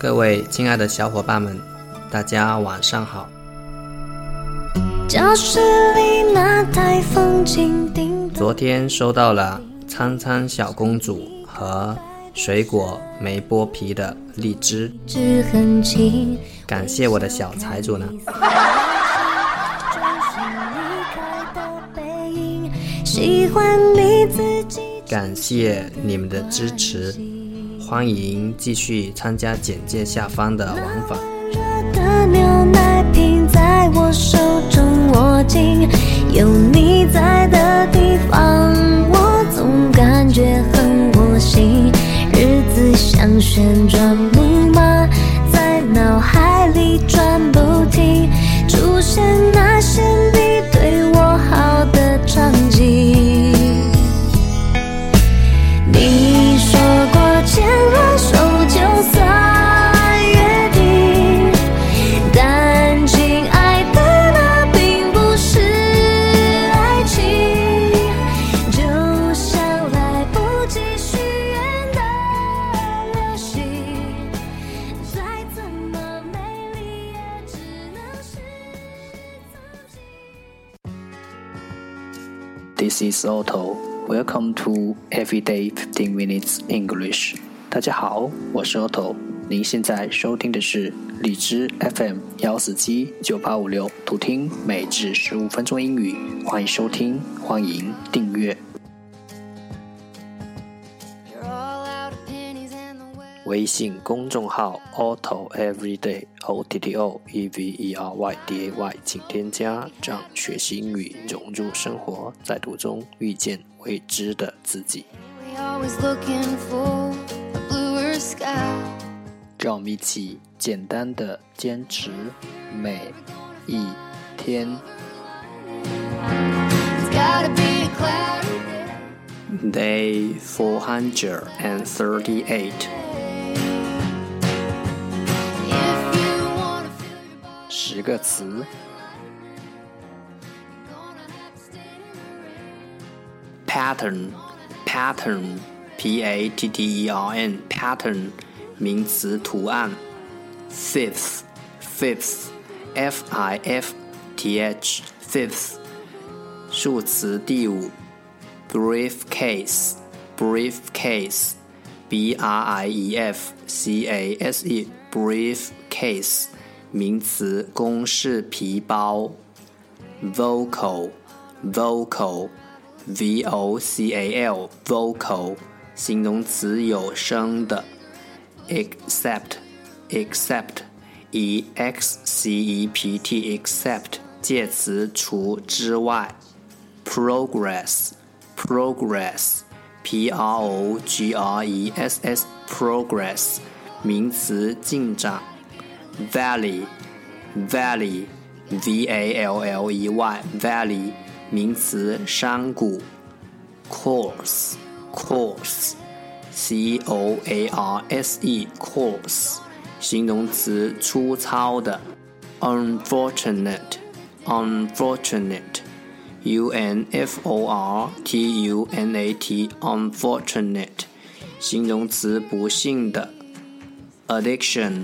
各位亲爱的小伙伴们，大家晚上好。教室里那台风琴叮咚，昨天收到了苍苍小公主和水果没剥皮的荔枝，感谢我的小财主呢。感谢你们的支持，欢迎继续参加简介下方的玩法。的牛奶瓶在我手中握紧，有你在的地方我总感觉很窝心，日子像旋转木马在脑海里转不停，出现那些你对我好的场景。你说过牵了手就算约定，但亲爱的那并不是爱情，就像来不及许愿的流星，再怎么美丽也只能是自己。 This is Otto.Welcome to Everyday 15 Minutes English。 大家好，我是 Otto， 您现在收听的是荔枝 FM 1479856，图听每日15分钟英语，欢迎收听，欢迎订阅。微信公众号 Otto Everyday OTTO EVERYDAY， 请添加，让学习英语融入生活，在途中遇见未知的自己。让我们一起简单的坚持每一天。Day 438。10个词。Pattern P-A-T-T-E-R-N Pattern 名词图案。Fifth F-I-F-T-H Fifth 数词第五。Briefcase B-R-I-E-F-C-A-S-E Briefcase 名词公事皮包。Vocal V-O-C-A-L Vocal 形容词有声的。Except E-X-C-E-P-T Except 介词除之外。Progress P-R-O-G-R-E-S-S Progress 名词进展。Valley V-A-L-L-E-Y Valley 名词山谷。Coarse C-O-A-R-S-E Coarse 形容詞粗糙的。Unfortunate U-N-F-O-R-T-U-N-A-T Unfortunate 形容詞不幸的。Addiction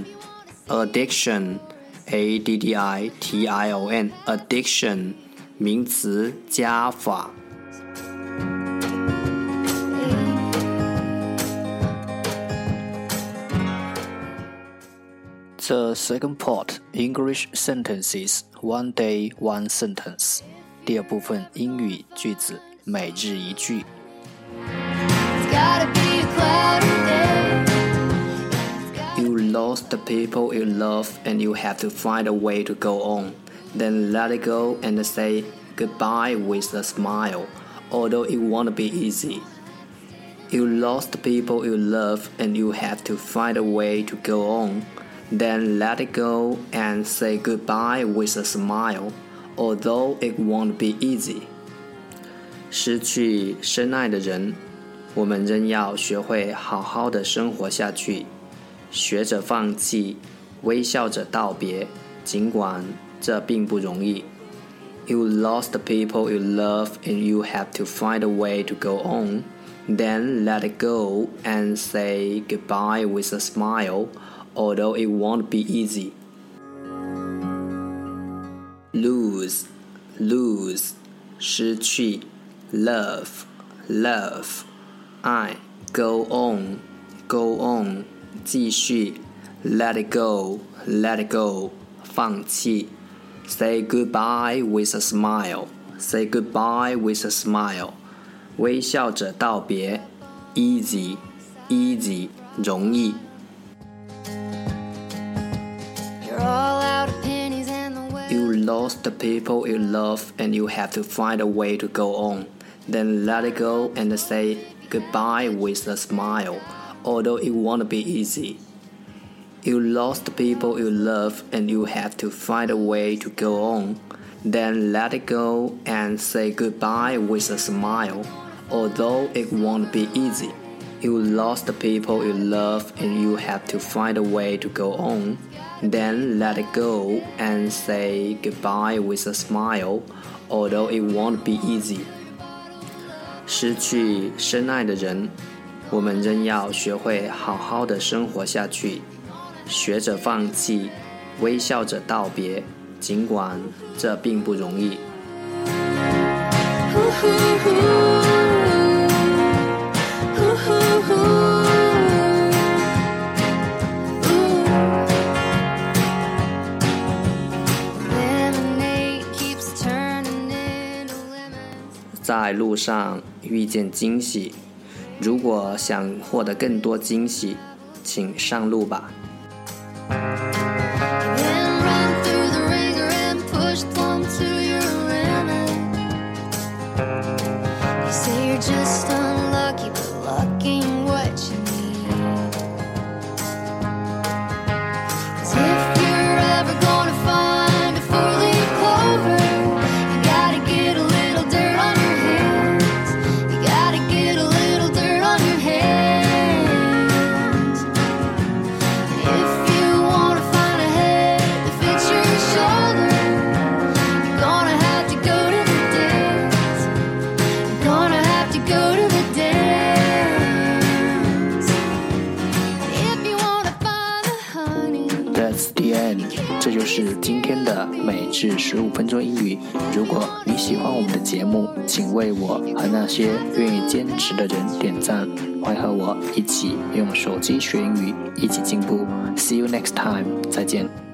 A-D-D-I-T-I-O-N Addiction 名詞加法。The second part, English sentences, one day, one sentence. 第二部分英语句子，每日一句。You lost the people you love and you have to find a way to go on. Then let it go and say goodbye with a smile, although it won't be easy. You lost the people you love and you have to find a way to go on.Then let it go and say goodbye with a smile, although it won't be easy. 失去深爱的人，我们仍要学会好好的生活下去，学着放弃，微笑着道别，尽管这并不容易。You lost the people you love and you have to find a way to go on. Then let it go and say goodbye with a smile, although it won't be easy. Lose, lose, 失去 Love, love, 爱 Go on, go on, 继续 Let it go, let it go, 放弃 Say goodbye with a smile, say goodbye with a smile, 微笑着道别 Easy, easy, 容易You lost the people you love and you have to find a way to go on. Then let it go and say goodbye with a smile, although it won't be easy. You lost the people you love and you have to find a way to go on. Then let it go and say goodbye with a smile, although it won't be easy. You lost the people you love and you have to find a way to go on. Then let it go and say goodbye with a smile, although it won't be easy. 失去深爱的人，我们仍要学会好好的生活下去，学着放弃，微笑着道别，尽管这并不容易。在路上遇见惊喜，如果想获得更多惊喜，请上路吧。That's the end， 这就是今天的每日15分钟英语。如果你喜欢我们的节目，请为我和那些愿意坚持的人点赞，快和我一起用手机学英语，一起进步。See you next time， 再见。